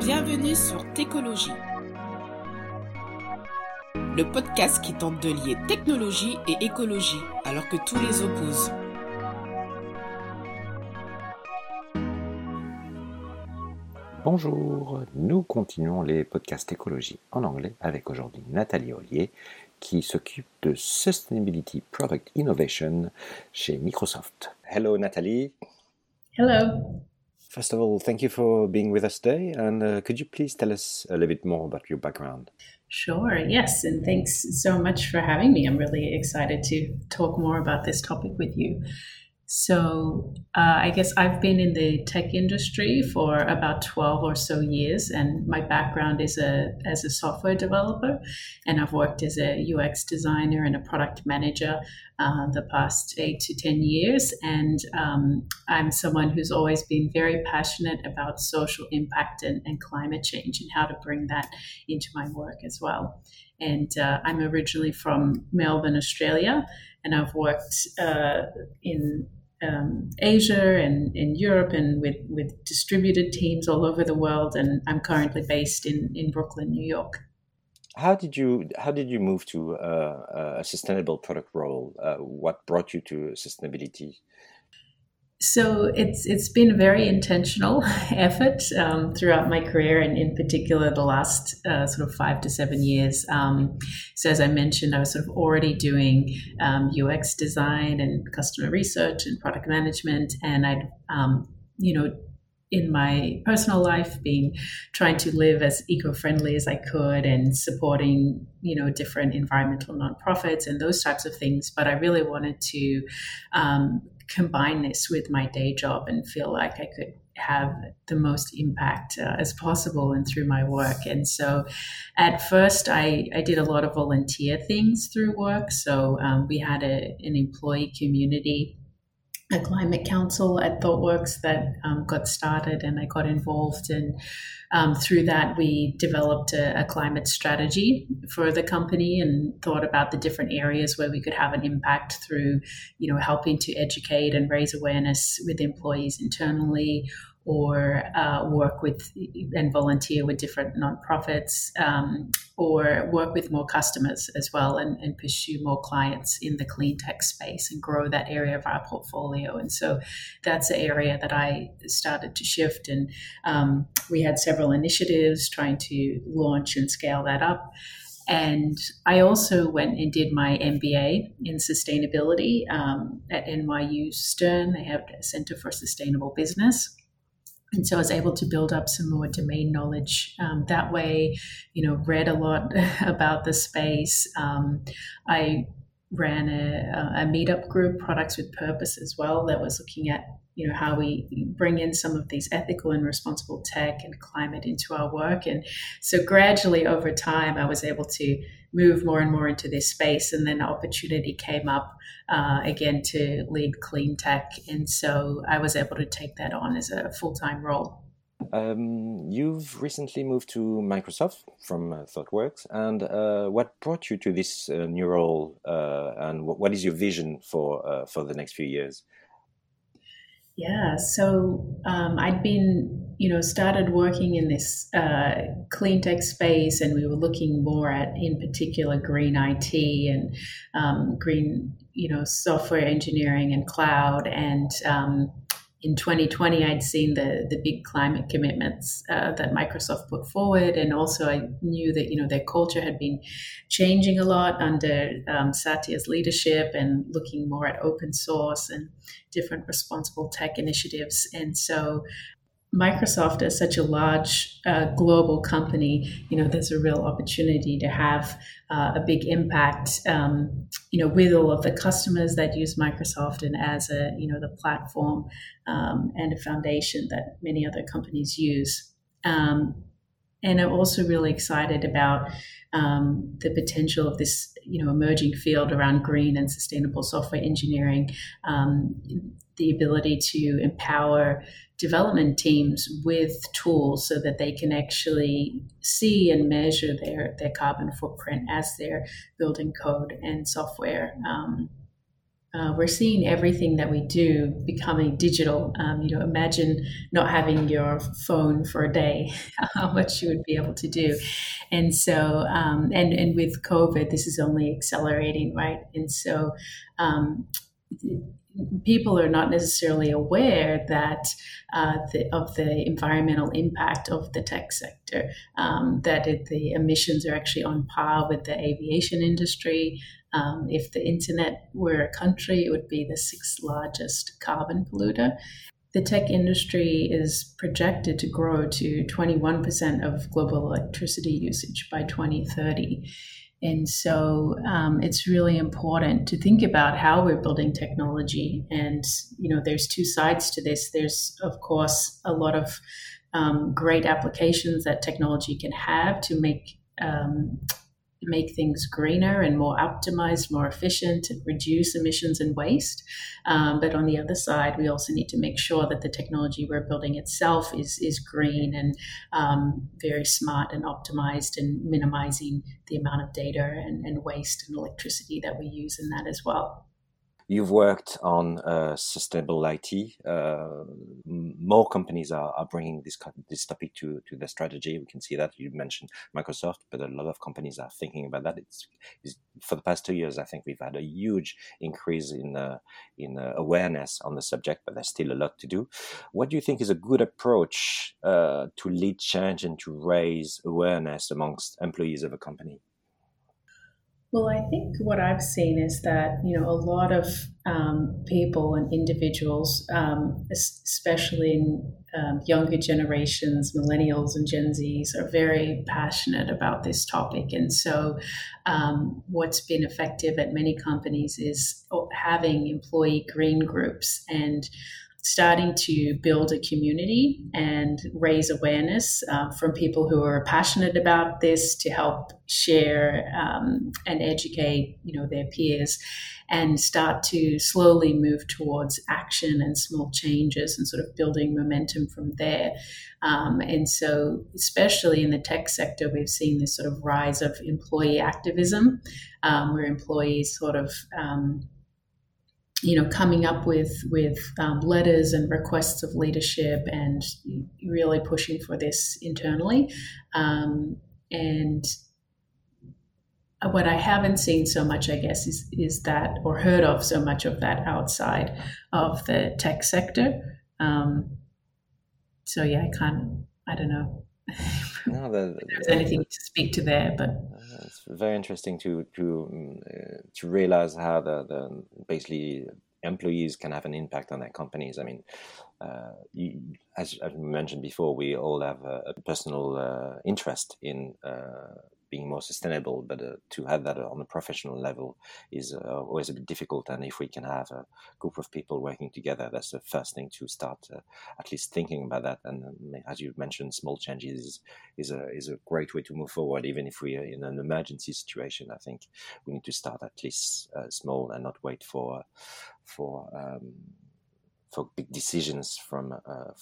Bienvenue sur Técologie, le podcast qui tente de lier technologie et écologie alors que tout les oppose. Bonjour, nous continuons les podcasts écologie en anglais avec aujourd'hui Nathalie Ollier qui s'occupe de Sustainability Product Innovation chez Microsoft. Hello Nathalie. Hello. First of all, thank you for being with us today, and could you please tell us a little bit more about your background? Sure, yes, and thanks so much for having me. I'm really excited to talk more about this topic with you. So I guess I've been in the tech industry for about 12 or so years, and my background is as a software developer, and I've worked as a UX designer and a product manager the past 8 to 10 years. And I'm someone who's always been very passionate about social impact and climate change and how to bring that into my work as well. And I'm originally from Melbourne, Australia, and I've worked in Asia and in Europe and with distributed teams all over the world, and I'm currently based in Brooklyn, New York. How did you move to a sustainable product role? What brought you to sustainability? So it's been a very intentional effort throughout my career, and in particular the last sort of 5 to 7 years. So as I mentioned, I was sort of already doing UX design and customer research and product management, and I'd in my personal life being trying to live as eco-friendly as I could and supporting different environmental nonprofits and those types of things. But I really wanted to combine this with my day job and feel like I could have the most impact as possible and through my work. And so at first I did a lot of volunteer things through work. So we had an employee community, a climate council at ThoughtWorks that got started, and I got involved, and through that we developed a climate strategy for the company and thought about the different areas where we could have an impact through helping to educate and raise awareness with employees internally, or work with and volunteer with different nonprofits, or work with more customers as well and pursue more clients in the clean tech space and grow that area of our portfolio. And so that's the area that I started to shift, and we had several initiatives trying to launch and scale that up. And I also went and did my MBA in sustainability at NYU Stern. They have a Center for Sustainable Business. And so I was able to build up some more domain knowledge that way, read a lot about the space. I ran a meetup group, Products with Purpose as well, that was looking at, how we bring in some of these ethical and responsible tech and climate into our work. And so gradually over time, I was able to move more and more into this space. And then an opportunity came up again to lead clean tech. And so I was able to take that on as a full-time role. You've recently moved to Microsoft from ThoughtWorks, and what brought you to this new role, and what is your vision for the next few years? Yeah, so I'd been, started working in this clean tech space, and we were looking more at, in particular, green IT and green, software engineering and cloud. And in 2020, I'd seen the big climate commitments that Microsoft put forward, and also I knew that their culture had been changing a lot under Satya's leadership and looking more at open source and different responsible tech initiatives. And so Microsoft, as such a large global company, there's a real opportunity to have a big impact, with all of the customers that use Microsoft, and as the platform and a foundation that many other companies use. And I'm also really excited about the potential of this, emerging field around green and sustainable software engineering, the ability to empower development teams with tools so that they can actually see and measure their carbon footprint as they're building code and software. we're seeing everything that we do becoming digital. Imagine not having your phone for a day, how much you would be able to do. And so, and with COVID, this is only accelerating, right? And so, people are not necessarily aware that of the environmental impact of the tech sector, the emissions are actually on par with the aviation industry. If the internet were a country, it would be the sixth largest carbon polluter. The tech industry is projected to grow to 21% of global electricity usage by 2030. And so it's really important to think about how we're building technology. And, there's two sides to this. There's, of course, a lot of great applications that technology can have to make things greener and more optimized, more efficient, and reduce emissions and waste. But on the other side, we also need to make sure that the technology we're building itself is green and very smart and optimized, and minimizing the amount of data and waste and electricity that we use in that as well. You've worked on sustainable IT. More companies are bringing this topic to their strategy. We can see that. You mentioned Microsoft, but a lot of companies are thinking about that. It's for the past 2 years, I think we've had a huge increase in awareness on the subject, but there's still a lot to do. What do you think is a good approach to lead change and to raise awareness amongst employees of a company? Well, I think what I've seen is that, a lot of people and individuals, especially in younger generations, millennials and Gen Zs, are very passionate about this topic. And so what's been effective at many companies is having employee green groups and starting to build a community and raise awareness from people who are passionate about this to help share and educate, their peers, and start to slowly move towards action and small changes and sort of building momentum from there. And so, especially in the tech sector, we've seen this sort of rise of employee activism, where employees sort of coming up with letters and requests of leadership and really pushing for this internally. And what I haven't seen so much, I guess, is that, or heard of so much of that outside of the tech sector. So yeah, I don't know. No, if there's anything to speak to there, but it's very interesting to realize how the basically employees can have an impact on their companies. I mean, as I mentioned before, we all have a personal interest in being more sustainable, but to have that on a professional level is always a bit difficult. And if we can have a group of people working together, that's the first thing to start at least thinking about that. And as you mentioned, small changes is a great way to move forward. Even if we are in an emergency situation, I think we need to start at least small and not wait for big decisions from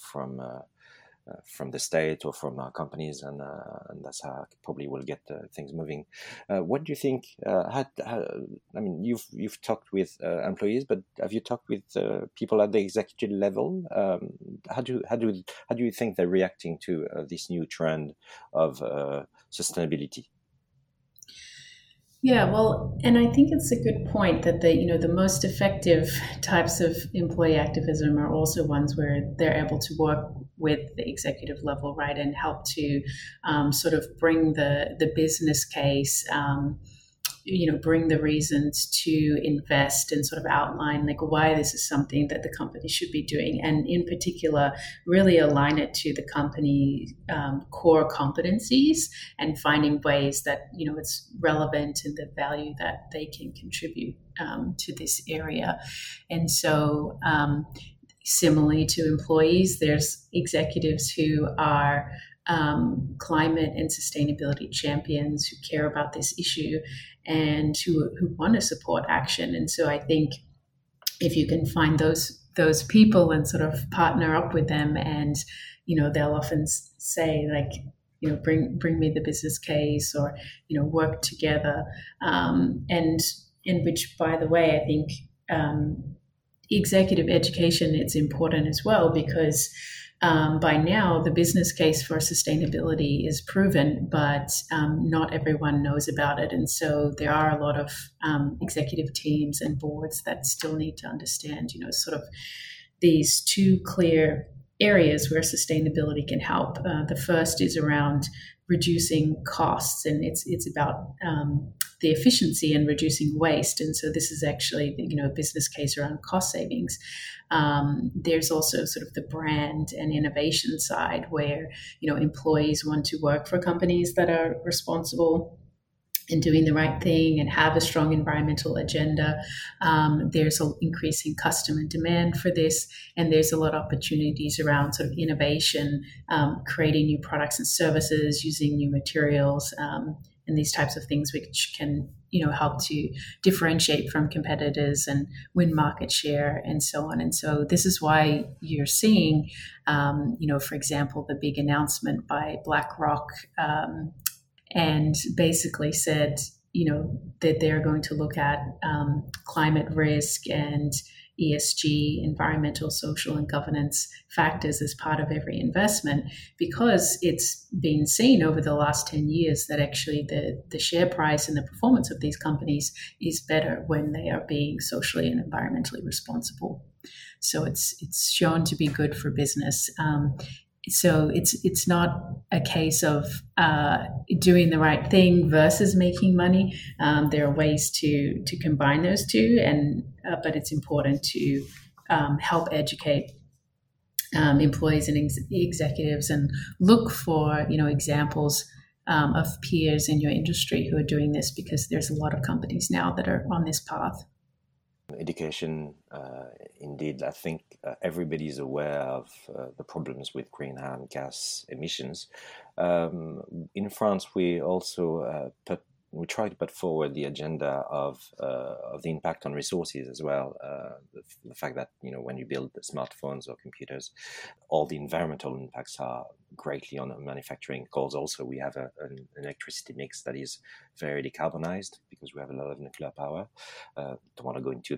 the state or from our companies, and that's how probably we'll get things moving. What do you think? I mean, you've talked with employees, but have you talked with people at the executive level? How do you think they're reacting to this new trend of sustainability? Yeah, well, and I think it's a good point that the most effective types of employee activism are also ones where they're able to work with the executive level, right, and help to sort of bring the business case, bring the reasons to invest and sort of outline like why this is something that the company should be doing, and in particular really align it to the company core competencies and finding ways that it's relevant and the value that they can contribute to this area. And so similarly to employees, there's executives who are climate and sustainability champions who care about this issue and who want to support action. And so I think if you can find those people and sort of partner up with them, and they'll often say like, bring me the business case, or work together, and in which, by the way, I think executive education, it's important as well because by now the business case for sustainability is proven, but not everyone knows about it. And so there are a lot of executive teams and boards that still need to understand, sort of these two clear areas where sustainability can help. The first is around reducing costs, and it's about the efficiency and reducing waste. And so this is actually, a business case around cost savings. There's also sort of the brand and innovation side where, employees want to work for companies that are responsible and doing the right thing and have a strong environmental agenda. There's an increasing customer demand for this, and there's a lot of opportunities around sort of innovation, creating new products and services, using new materials, and these types of things which can, help to differentiate from competitors and win market share and so on. And so this is why you're seeing, for example, the big announcement by BlackRock, and basically said, that they're going to look at climate risk and ESG, environmental, social, and governance factors as part of every investment, because it's been seen over the last 10 years that actually the share price and the performance of these companies is better when they are being socially and environmentally responsible. So it's shown to be good for business. So it's not a case of doing the right thing versus making money. There are ways to combine those two, but it's important to help educate employees and executives and look for examples of peers in your industry who are doing this, because there's a lot of companies now that are on this path. Education, indeed, I think everybody is aware of the problems with greenhouse gas emissions. In France, we also we try to put forward the agenda of the impact on resources as well. The fact that when you build smartphones or computers, all the environmental impacts are greatly on manufacturing. Because also we have an electricity mix that is very decarbonized because we have a lot of nuclear power. Don't want to go into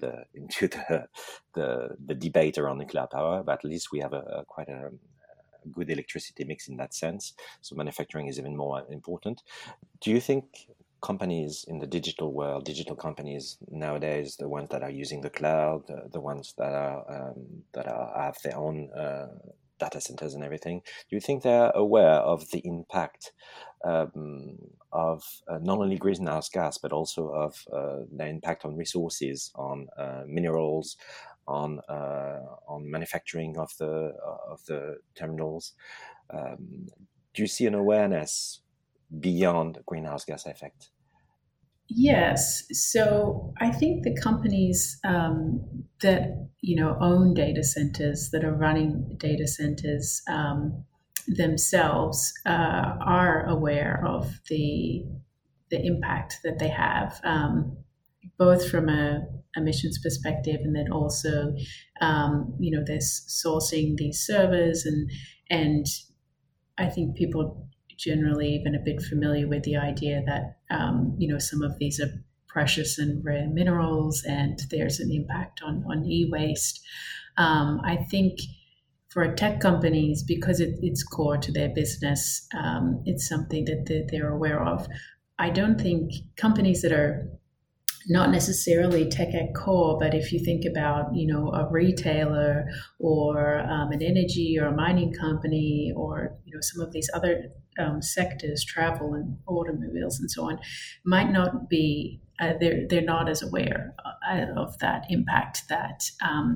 the debate around nuclear power, but at least we have quite a good electricity mix in that sense. So manufacturing is even more important. Do you think companies in the digital world, digital companies nowadays, the ones that are using the cloud, the ones that have their own data centers and everything, do you think they're aware of the impact of not only greenhouse gas, but also of the impact on resources, on minerals, on manufacturing of the terminals? Do you see an awareness beyond greenhouse gas effect? Yes. So I think the companies that own data centers, that are running data centers themselves, are aware of the impact that they have, both from a emissions perspective, and then also they're sourcing these servers, and I think people generally even a bit familiar with the idea that some of these are precious and rare minerals, and there's an impact on e-waste. I think for tech companies, because it's core to their business, it's something that they're aware of. I don't think companies that are not necessarily tech at core, but if you think about, a retailer or an energy or a mining company, or, some of these other sectors, travel and automobiles and so on, might not be, they're not as aware of that impact that,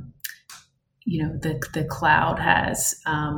the cloud has.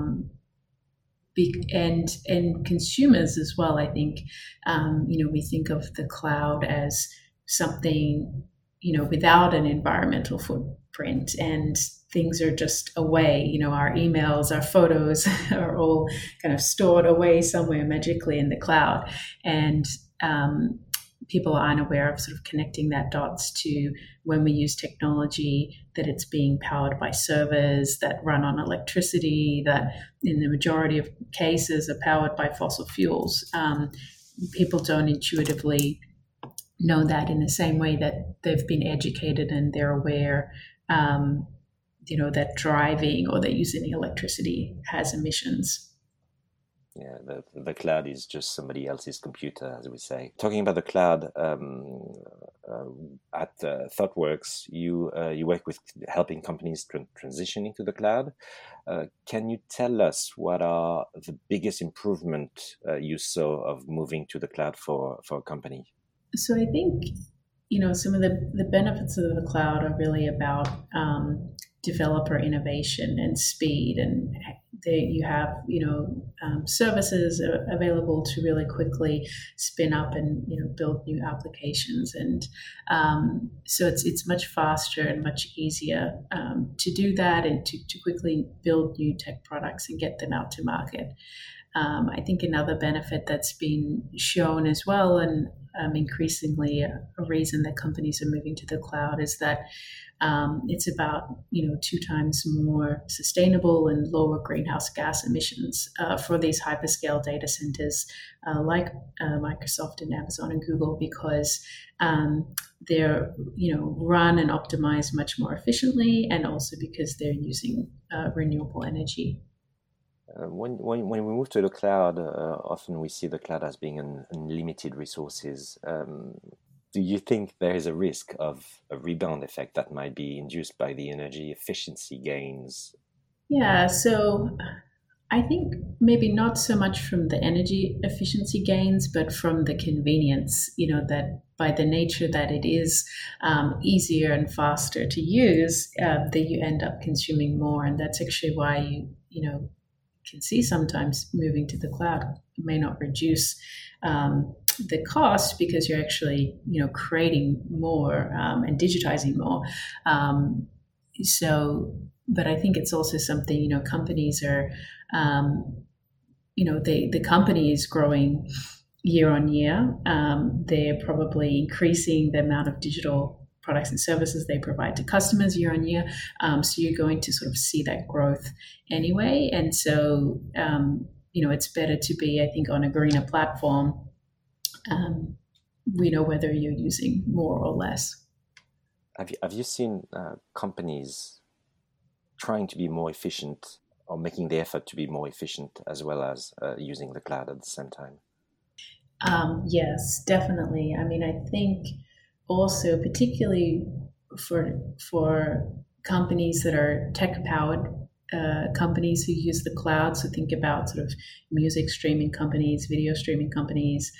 And consumers as well, I think, we think of the cloud as something, without an environmental footprint, and things are just away. Our emails, our photos are all kind of stored away somewhere magically in the cloud. And people aren't aware of sort of connecting that dots to when we use technology, that it's being powered by servers that run on electricity, that in the majority of cases are powered by fossil fuels. People don't intuitively know that in the same way that they've been educated and they're aware, that driving or that using electricity has emissions. Yeah, the cloud is just somebody else's computer, as we say. Talking about the cloud, at ThoughtWorks, you work with helping companies transition into the cloud. Can you tell us what are the biggest improvement you saw of moving to the cloud for a company? So I think, some of the benefits of the cloud are really about developer innovation and speed, and you have services available to really quickly spin up and build new applications, and so it's much faster and much easier to do that and to quickly build new tech products and get them out to market. I think another benefit that's been shown as well, and increasingly a reason that companies are moving to the cloud, is that it's about 2 times more sustainable and lower greenhouse gas emissions for these hyperscale data centers like Microsoft and Amazon and Google, because they're run and optimized much more efficiently, and also because they're using renewable energy. When we move to the cloud, often we see the cloud as being unlimited resources. Do you think there is a risk of a rebound effect that might be induced by the energy efficiency gains? Yeah, so I think maybe not so much from the energy efficiency gains, but from the convenience, that by the nature that it is easier and faster to use, that you end up consuming more. And that's actually why you can see sometimes moving to the cloud may not reduce the cost, because you're actually creating more and digitizing more. But I think it's also something companies are the company is growing year on year. They're probably increasing the amount of digital products and services they provide to customers year on year. So you're going to sort of see that growth anyway. And so, it's better to be, I think, on a greener platform. We know whether you're using more or less. Have you seen companies trying to be more efficient, or making the effort to be more efficient, as well as using the cloud at the same time? Yes, definitely. I mean, I think also, particularly for companies that are tech-powered companies who use the cloud, so think about sort of music streaming companies, video streaming companies,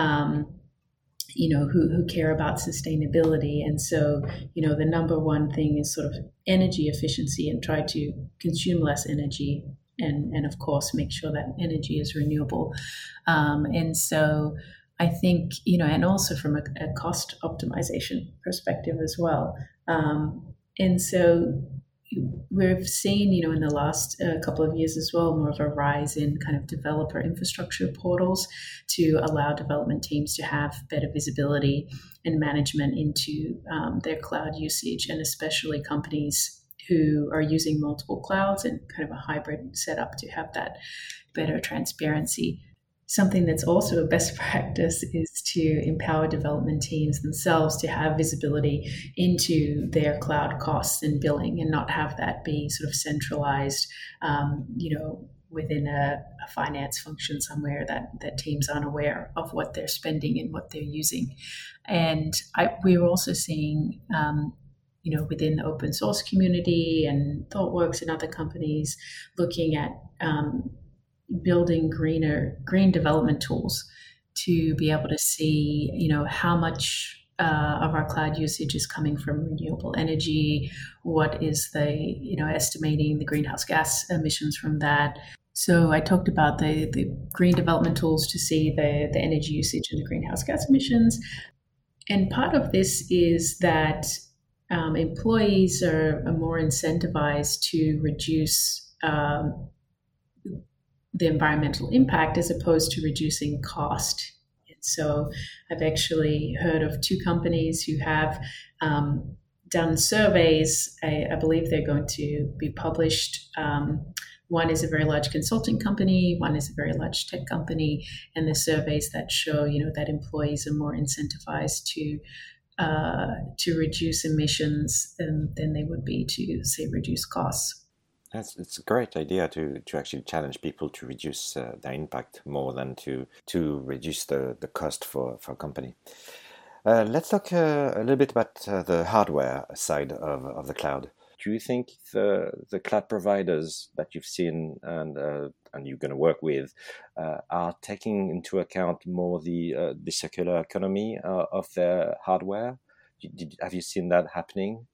who care about sustainability. And so, the number one thing is sort of energy efficiency, and try to consume less energy, and of course, make sure that energy is renewable. And so I think, and also from a cost optimization perspective as well. And so we've seen, in the last couple of years as well, more of a rise in kind of developer infrastructure portals to allow development teams to have better visibility and management into their cloud usage, and especially companies who are using multiple clouds and kind of a hybrid setup to have that better transparency. Something that's also a best practice is to empower development teams themselves to have visibility into their cloud costs and billing, and not have that be sort of centralized, within a finance function somewhere that teams aren't aware of what they're spending and what they're using. And we're also seeing, within the open source community and ThoughtWorks and other companies, looking at building green development tools to be able to see, how much of our cloud usage is coming from renewable energy, what is the, estimating the greenhouse gas emissions from that. So I talked about the green development tools to see the energy usage and the greenhouse gas emissions. And part of this is that employees are more incentivized to reduce the environmental impact as opposed to reducing cost. And so I've actually heard of 2 companies who have done surveys. I believe they're going to be published one is a very large consulting company, one is a very large tech company, and the surveys that show, that employees are more incentivized to reduce emissions than they would be to, say, reduce costs. It's a great idea to actually challenge people to reduce their impact more than to reduce the cost for a company. Let's talk a little bit about the hardware side of the cloud. Do you think the cloud providers that you've seen and you're going to work with are taking into account more the circular economy of their hardware? Have you seen that happening?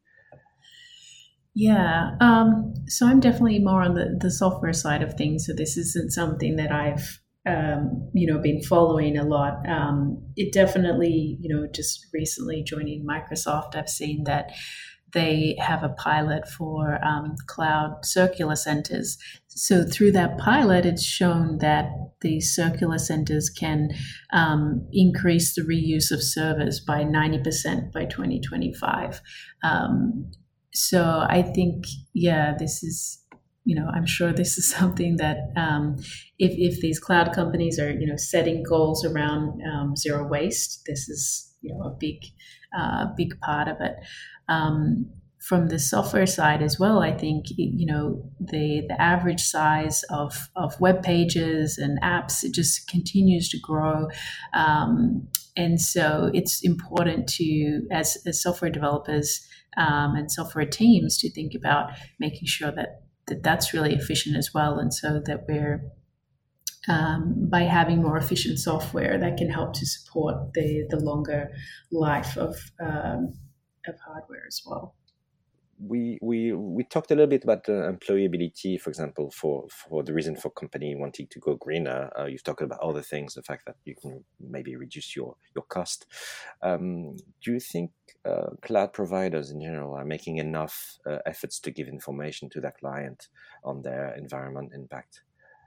Yeah, so I'm definitely more on the software side of things. So this isn't something that I've been following a lot. It definitely, just recently joining Microsoft, I've seen that they have a pilot for cloud circular centers. So through that pilot, it's shown that the circular centers can increase the reuse of servers by 90% by 2025. So I think, this is, I'm sure this is something that if these cloud companies are, setting goals around zero waste, this is, a big part of it. From the software side as well, I think, the average size of web pages and apps, it just continues to grow. And so it's important to, as software developers and software teams, to think about making sure that that's really efficient as well. And so that we're, by having more efficient software, that can help to support the longer life of hardware as well. We talked a little bit about employability, for example, for the reason for company wanting to go greener. You've talked about other things, the fact that you can maybe reduce your cost. Do you think cloud providers in general are making enough efforts to give information to their client on their environment impact?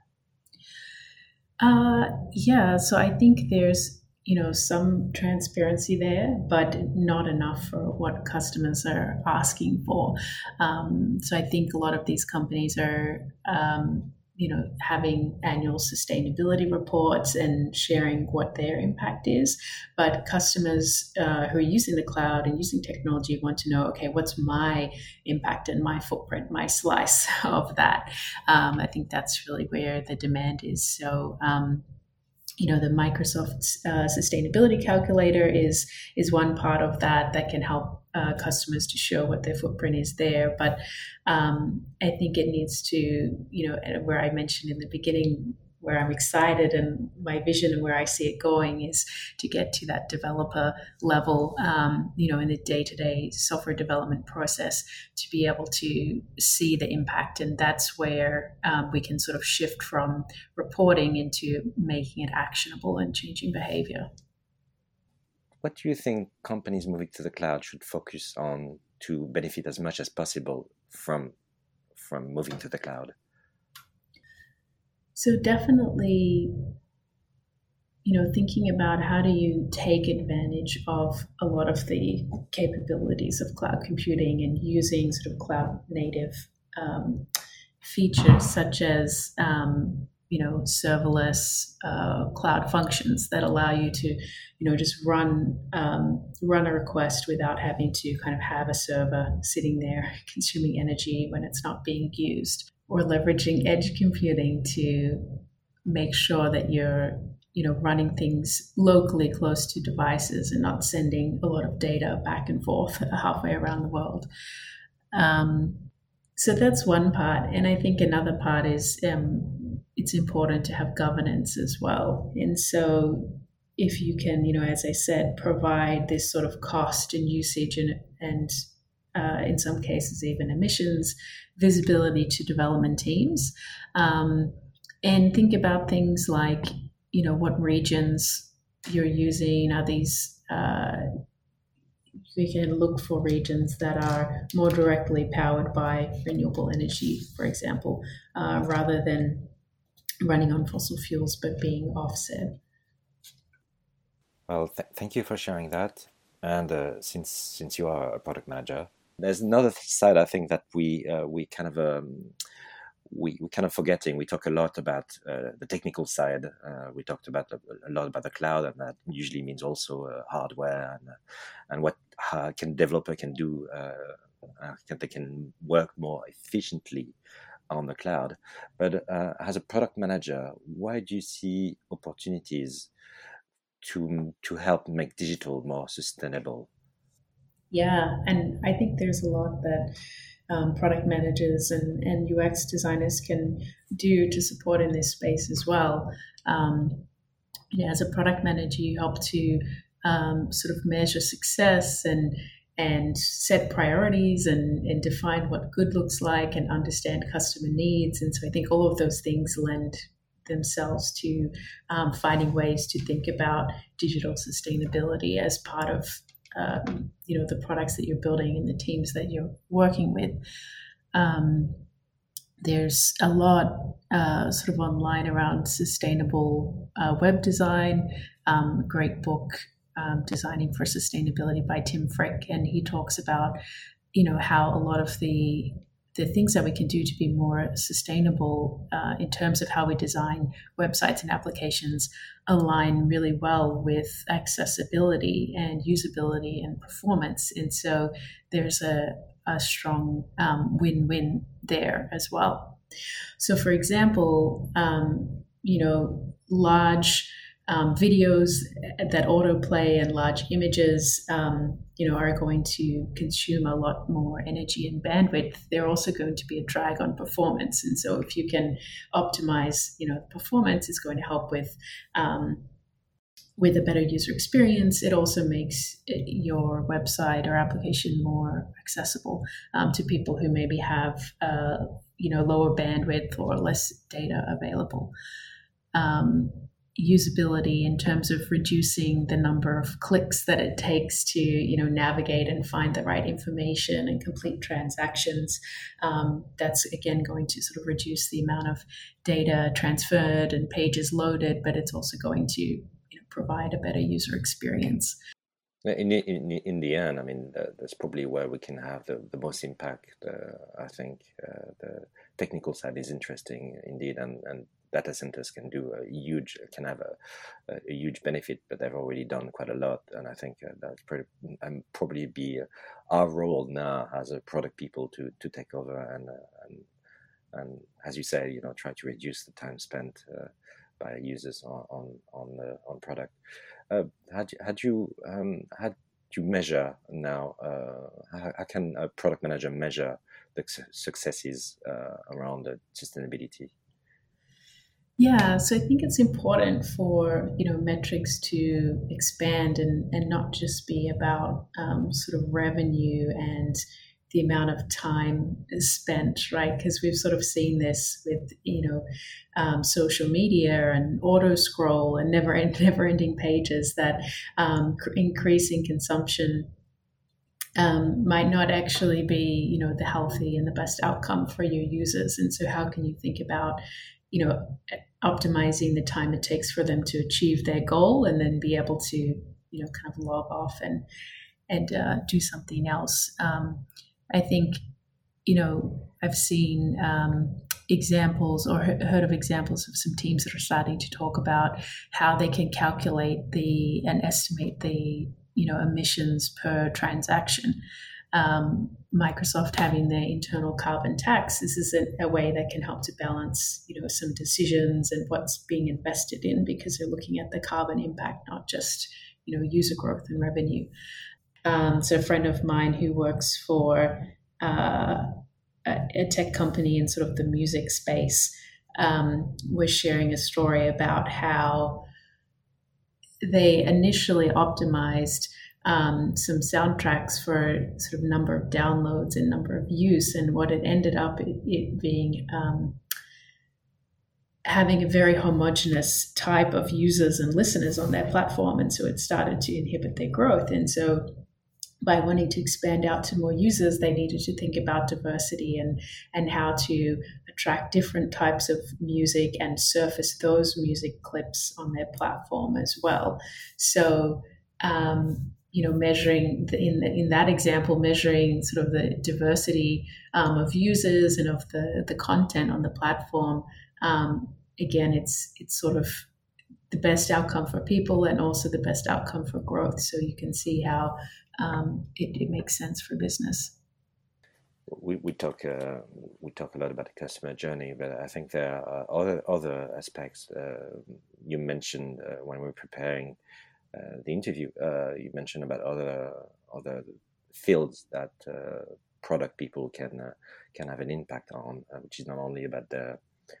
So I think there's some transparency there, but not enough for what customers are asking for. So I think a lot of these companies are, having annual sustainability reports and sharing what their impact is. But customers who are using the cloud and using technology want to know, okay, what's my impact and my footprint, my slice of that? I think that's really where the demand is. So, the Microsoft sustainability calculator is one part of that can help customers to show what their footprint is there. But I think it needs to, where I mentioned in the beginning, where I'm excited and my vision and where I see it going is to get to that developer level, in the day-to-day software development process, to be able to see the impact. And that's where we can sort of shift from reporting into making it actionable and changing behavior. What do you think companies moving to the cloud should focus on to benefit as much as possible from moving to the cloud? So definitely, thinking about how do you take advantage of a lot of the capabilities of cloud computing and using sort of cloud native features such as, serverless cloud functions that allow you to, just run a request without having to kind of have a server sitting there consuming energy when it's not being used. Or leveraging edge computing to make sure that you're, running things locally close to devices and not sending a lot of data back and forth halfway around the world. So that's one part. And I think another part is it's important to have governance as well. And so if you can, as I said, provide this sort of cost and usage and in some cases even emissions visibility to development teams, and think about things like, what regions you're using. Are these, we can look for regions that are more directly powered by renewable energy, for example, rather than running on fossil fuels but being offset. Well, thank you for sharing that. And since you are a product manager, there's another side I think that we kind of we kind of forgetting. We talk a lot about the technical side. We talked about a lot about the cloud, and that usually means also hardware and what can developer can do. They can work more efficiently on the cloud. But as a product manager, why do you see opportunities to help make digital more sustainable? Yeah, and I think there's a lot that product managers and UX designers can do to support in this space as well. As a product manager, you help to sort of measure success and set priorities and define what good looks like and understand customer needs. And so I think all of those things lend themselves to finding ways to think about digital sustainability as part of the products that you're building and the teams that you're working with. There's a lot sort of online around sustainable web design. Great book, Designing for Sustainability by Tim Frick, and he talks about how a lot of the things that we can do to be more sustainable in terms of how we design websites and applications align really well with accessibility and usability and performance. And so there's a strong win-win there as well. So for example, large videos that autoplay and large images, are going to consume a lot more energy and bandwidth. They're also going to be a drag on performance. And so if you can optimize, performance, is going to help with a better user experience. It also makes your website or application more accessible to people who maybe have, lower bandwidth or less data available. Usability in terms of reducing the number of clicks that it takes to navigate and find the right information and complete transactions. That's again going to sort of reduce the amount of data transferred and pages loaded, but it's also going to provide a better user experience. In the end, I mean, that's probably where we can have the most impact. I think the technical side is interesting indeed, and data centers can have a huge benefit, but they've already done quite a lot. And I think that's probably be our role now as a product people to take over and as you say, try to reduce the time spent by users on product. Had you measure now? How can a product manager measure the successes around sustainability? Yeah, so I think it's important for metrics to expand and not just be about sort of revenue and the amount of time spent, right? Because we've sort of seen this with social media and auto scroll and never ending pages, that increasing consumption might not actually be the healthy and the best outcome for your users. And so how can you think about optimizing the time it takes for them to achieve their goal and then be able to kind of log off and do something else? I think I've seen examples or heard of examples of some teams that are starting to talk about how they can calculate and estimate the emissions per transaction. Microsoft having their internal carbon tax, this is a way that can help to balance some decisions and what's being invested in, because they're looking at the carbon impact, not just user growth and revenue. So a friend of mine who works for a tech company in sort of the music space was sharing a story about how they initially optimized some soundtracks for sort of number of downloads and number of use, and what it ended up it being having a very homogenous type of users and listeners on their platform, and so it started to inhibit their growth. And so by wanting to expand out to more users, they needed to think about diversity and how to attract different types of music and surface those music clips on their platform as well. So measuring in that example, measuring sort of the diversity of users and of the content on the platform. Again, it's sort of the best outcome for people and also the best outcome for growth. So you can see how it makes sense for business. We talk a lot about the customer journey, but I think there are other aspects. You mentioned when we were preparing the interview, you mentioned about other fields that product people can have an impact on, which is not only about the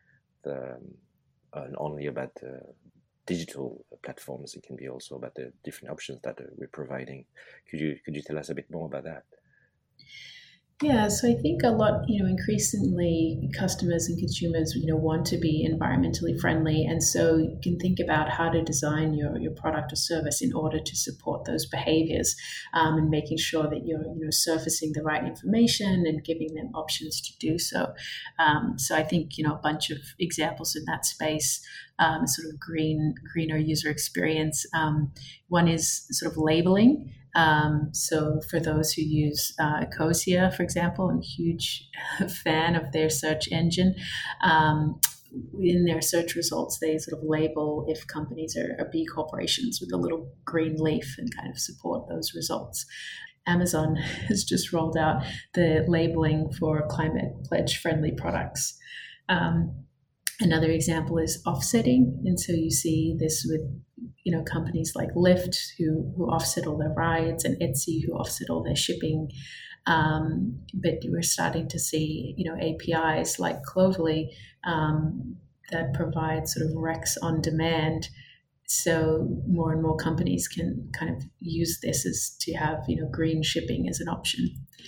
digital platforms. It can be also about the different options that we're providing. Could you tell us a bit more about that? Yeah, so I think a lot, increasingly customers and consumers, want to be environmentally friendly. And so you can think about how to design your product or service in order to support those behaviors, and making sure that you're, surfacing the right information and giving them options to do so. So I think, a bunch of examples in that space, sort of greener user experience. One is sort of labeling. So for those who use Ecosia, for example, I'm a huge fan of their search engine. In their search results, they sort of label if companies are B corporations with a little green leaf and kind of support those results. Amazon has just rolled out the labeling for climate pledge friendly products. Another example is offsetting. And so you see this with companies like Lyft who offset all their rides, and Etsy who offset all their shipping. But we're starting to see APIs like Cloverly that provide sort of Rex on demand. So more and more companies can kind of use this as to have green shipping as an option.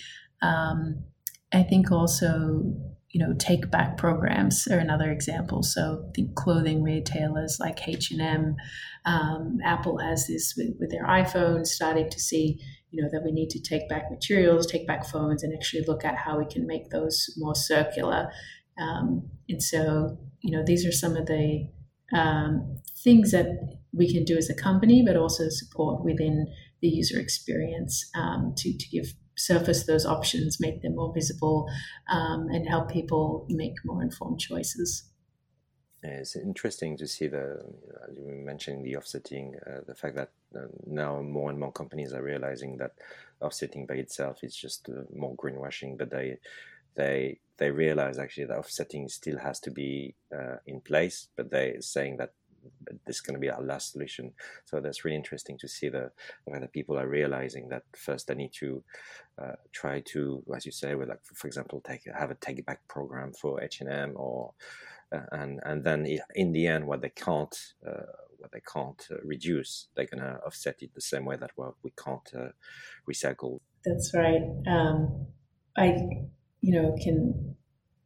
I think also take back programs are another example. So I think clothing retailers like H&M, Apple has this with their iPhones, starting to see that we need to take back materials, take back phones, and actually look at how we can make those more circular. And so these are some of the things that we can do as a company, but also support within the user experience to give surface those options, make them more visible, and help people make more informed choices. It's interesting to see as you were mentioning, the offsetting, the fact that now more and more companies are realizing that offsetting by itself is just more greenwashing, but they realize actually that offsetting still has to be in place, but they're saying that this is going to be our last solution. So that's really interesting to see the way that people are realizing that first they need to try to, as you say, with for example, have a take back program for H&M or and then in the end what they can't reduce, they're going to offset it the same way that we can't recycle. That's right. I can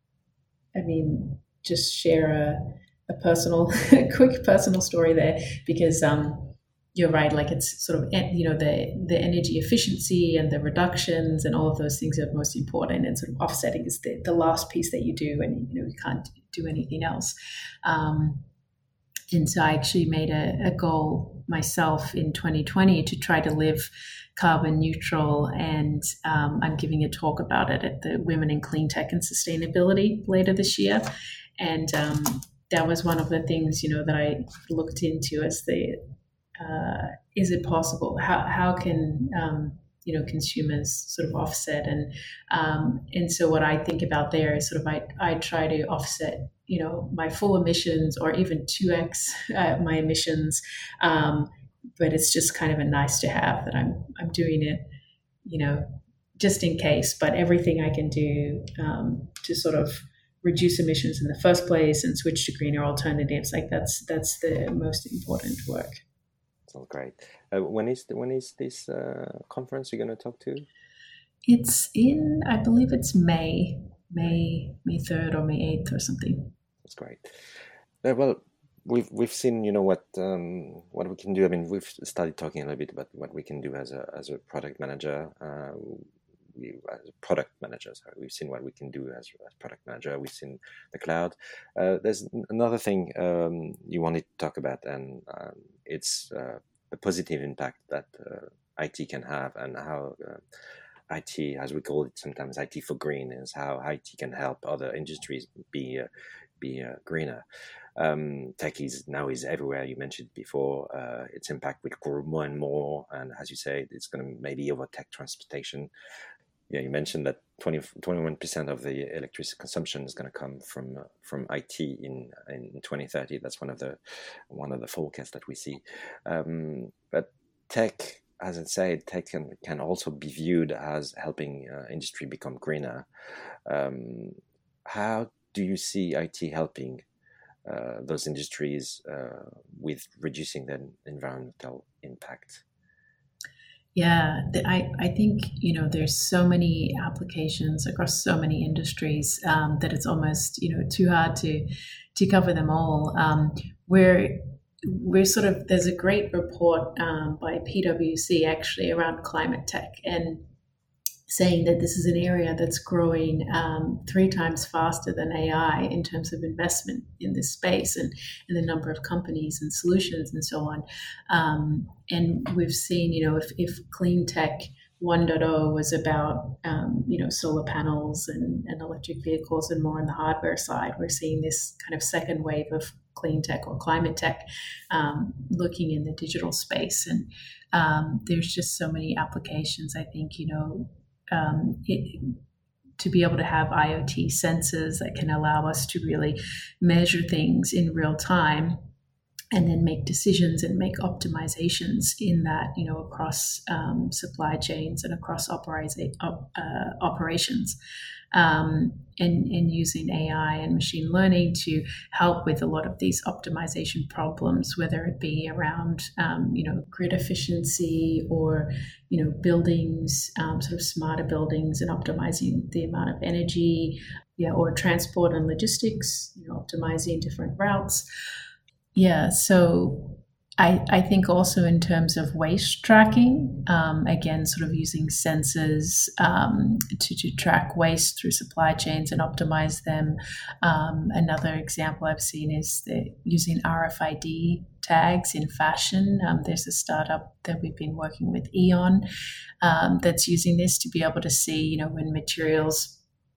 just share a quick personal story there, because you're right, like it's sort of the energy efficiency and the reductions and all of those things are most important, and sort of offsetting is the last piece that you do, and you can't do anything else. And so I actually made a goal myself in 2020 to try to live carbon neutral, and I'm giving a talk about it at the Women in Clean Tech and Sustainability later this year. And that was one of the things, that I looked into as is it possible? How can, consumers sort of offset? And so what I think about there is sort of, I try to offset, my full emissions or even 2x my emissions. But it's just kind of a nice to have that I'm doing it, just in case, but everything I can do to sort of reduce emissions in the first place and switch to greener alternatives, like that's the most important work. Sounds great. When is this conference you're going to talk to? It's in, I believe it's May 3rd or May 8th or something. That's great. Well, we've seen what we can do. I mean, we've started talking a little bit about what we can do as a product manager. We've seen what we can do as product manager. We've seen the cloud. There's another thing you wanted to talk about, and it's the positive impact that IT can have, and how IT, as we call it sometimes, IT for green, is how IT can help other industries be greener. Tech is everywhere. You mentioned before, its impact will grow more and more, and as you say, it's going to maybe overtake transportation. Yeah, you mentioned that 21% of the electricity consumption is going to come from IT in 2030. That's one of the forecasts that we see. But tech, as I said, tech can also be viewed as helping industry become greener. How do you see IT helping those industries with reducing their environmental impact? Yeah, I think there's so many applications across so many industries that it's almost too hard to cover them all. We're sort of, there's a great report by PwC actually around climate tech, and saying that this is an area that's growing 3 times faster than AI in terms of investment in this space, and the number of companies and solutions and so on. And we've seen, if clean tech 1.0 was about, solar panels and electric vehicles and more on the hardware side, we're seeing this kind of second wave of clean tech or climate tech looking in the digital space. And there's just so many applications, I think, to be able to have IoT sensors that can allow us to really measure things in real time and then make decisions and make optimizations in that, across supply chains and across operations. And using AI and machine learning to help with a lot of these optimization problems, whether it be around, grid efficiency or, buildings, sort of smarter buildings and optimizing the amount of energy, or transport and logistics, optimizing different routes. Yeah, so I think also in terms of waste tracking, again, sort of using sensors to track waste through supply chains and optimize them. Another example I've seen is using RFID tags in fashion. There's a startup that we've been working with, Eon, that's using this to be able to see, when materials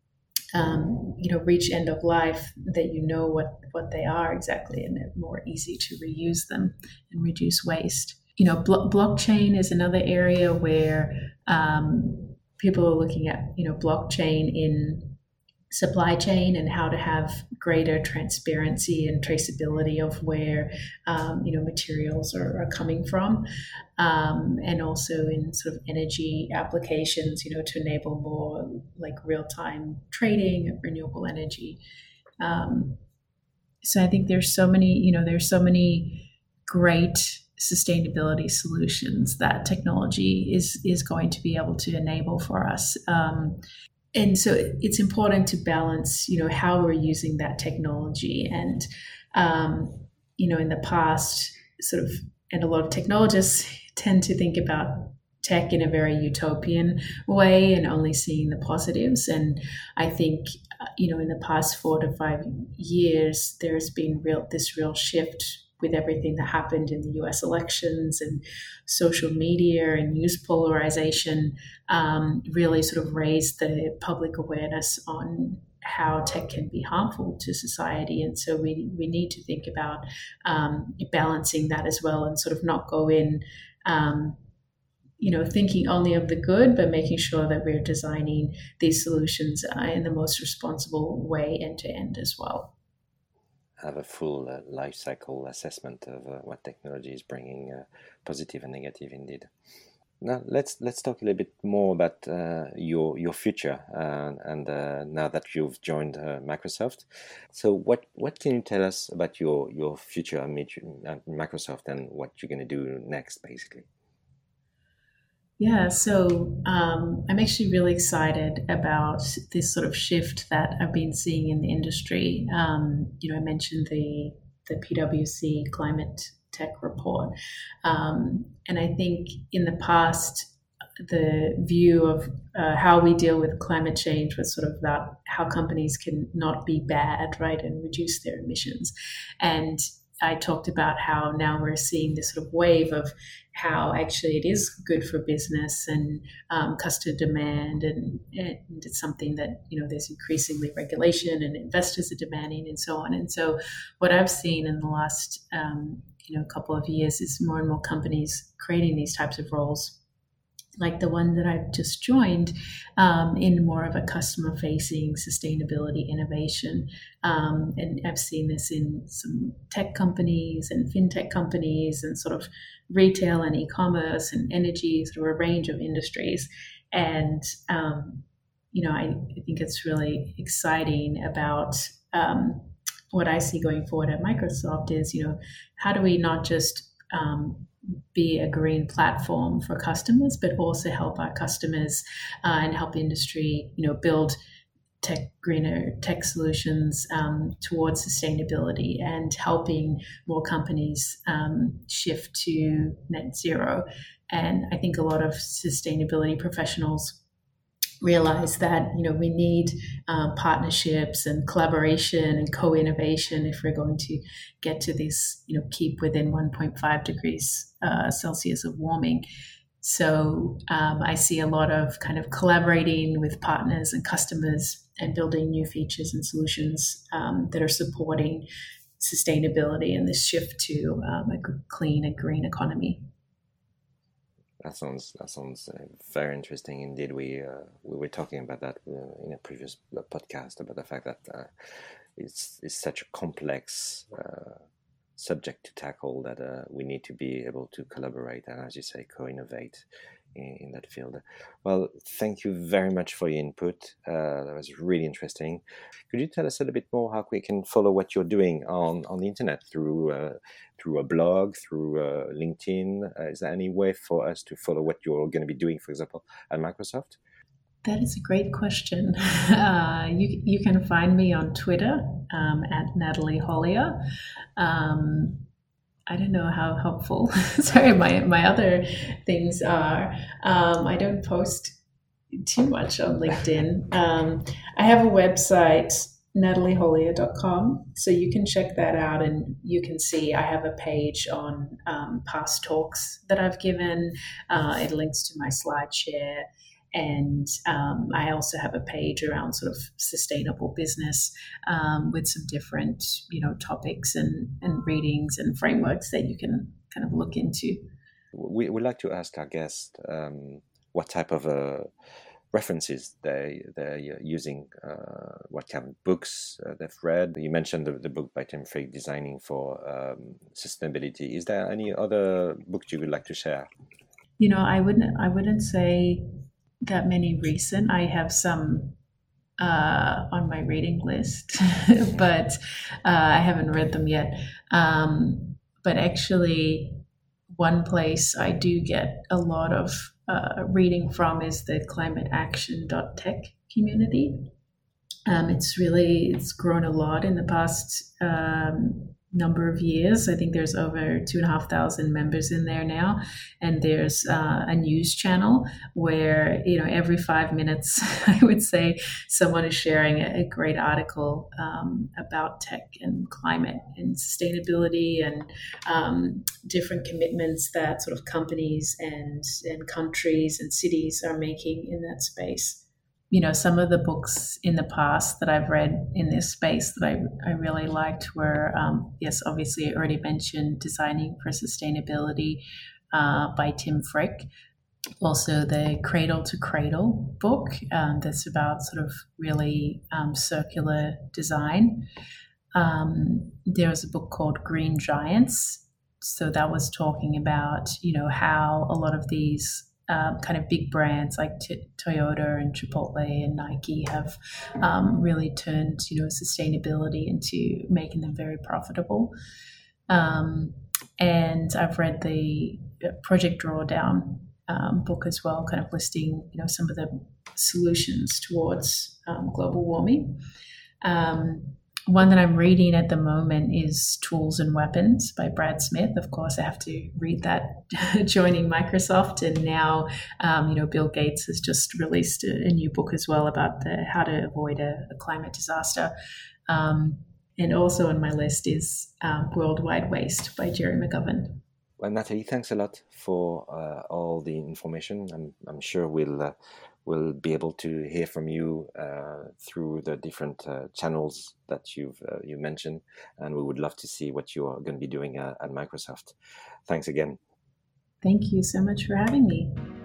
reach end of life, that what they are exactly, and they're more easy to reuse them and reduce waste. Blockchain is another area where people are looking at, blockchain in supply chain and how to have greater transparency and traceability of where materials are coming from, and also in sort of energy applications, to enable more like real-time trading of renewable energy. So I think there's so many great sustainability solutions that technology is going to be able to enable for us. And so it's important to balance, how we're using that technology. And, in the past, sort of, and a lot of technologists tend to think about tech in a very utopian way and only seeing the positives. And I think, in the past 4 to 5 years, there's been this real shift with everything that happened in the US elections and social media and news polarization, really sort of raised the public awareness on how tech can be harmful to society. And so we need to think about balancing that as well, and sort of not go in, thinking only of the good, but making sure that we're designing these solutions in the most responsible way end to end as well. Have a full life cycle assessment of what technology is bringing, positive and negative indeed. Now let's talk a little bit more about your future, and now that you've joined Microsoft. So what can you tell us about your future at Microsoft and what you're going to do next, basically? Yeah, so I'm actually really excited about this sort of shift that I've been seeing in the industry. I mentioned the PwC climate tech report. And I think in the past, the view of how we deal with climate change was sort of about how companies can not be bad, right, and reduce their emissions. And I talked about how now we're seeing this sort of wave of how actually it is good for business and customer demand, and it's something that, there's increasingly regulation and investors are demanding and so on. And so what I've seen in the last couple of years is more and more companies creating these types of roles, like the one that I've just joined, in more of a customer-facing sustainability innovation. And I've seen this in some tech companies and fintech companies and sort of retail and e-commerce and energy, sort of a range of industries. And, I think it's really exciting about what I see going forward at Microsoft is, how do we not just be a green platform for customers, but also help our customers and help industry, build greener tech solutions towards sustainability, and helping more companies shift to net zero. And I think a lot of sustainability professionals realize that we need partnerships and collaboration and co-innovation if we're going to get to this, keep within 1.5 degrees Celsius of warming. So I see a lot of kind of collaborating with partners and customers and building new features and solutions that are supporting sustainability and this shift to a clean and green economy. That sounds very interesting indeed. We were talking about that in a previous podcast, about the fact that it's such a complex subject to tackle that we need to be able to collaborate and, as you say, co-innovate in that field. Well, thank you very much for your input. That was really interesting. Could you tell us a little bit more how we can follow what you're doing on the internet, through a blog, through LinkedIn? Is there any way for us to follow what you're going to be doing, for example, at Microsoft? That is a great question. You can find me on Twitter at Natalie Hollier. I don't know how helpful. Sorry, my other things are. I don't post too much on LinkedIn. I have a website, nataliehollier.com, so you can check that out, and you can see I have a page on past talks that I've given. It links to my SlideShare. And I also have a page around sort of sustainable business with some different, topics and readings and frameworks that you can kind of look into. We would like to ask our guest what type of references they're using, what kind of books they've read. You mentioned the book by Tim Frick, Designing for Sustainability. Is there any other books you would like to share? I wouldn't say that many recent. I have some on my reading list, but I haven't read them yet. But actually, one place I do get a lot of reading from is the climateaction.tech community. It's grown a lot in the past number of years. I think there's over 2,500 members in there now, and there's a news channel where every 5 minutes I would say someone is sharing a great article about tech and climate and sustainability and different commitments that sort of companies and countries and cities are making in that space. Some of the books in the past that I've read in this space that I really liked were, obviously I already mentioned Designing for Sustainability by Tim Frick. Also the Cradle to Cradle book that's about sort of really circular design. There was a book called Green Giants. So that was talking about, how a lot of these kind of big brands like Toyota and Chipotle and Nike have really turned, sustainability into making them very profitable. And I've read the Project Drawdown book as well, kind of listing, some of the solutions towards global warming. One that I'm reading at the moment is Tools and Weapons by Brad Smith. Of course, I have to read that joining Microsoft. And now, Bill Gates has just released a new book as well about how to avoid a climate disaster. And also on my list is Worldwide Waste by Jerry McGovern. Well, Natalie, thanks a lot for all the information. I'm sure we'll be able to hear from you through the different channels that you mentioned, and we would love to see what you are going to be doing at Microsoft. Thanks again. Thank you so much for having me.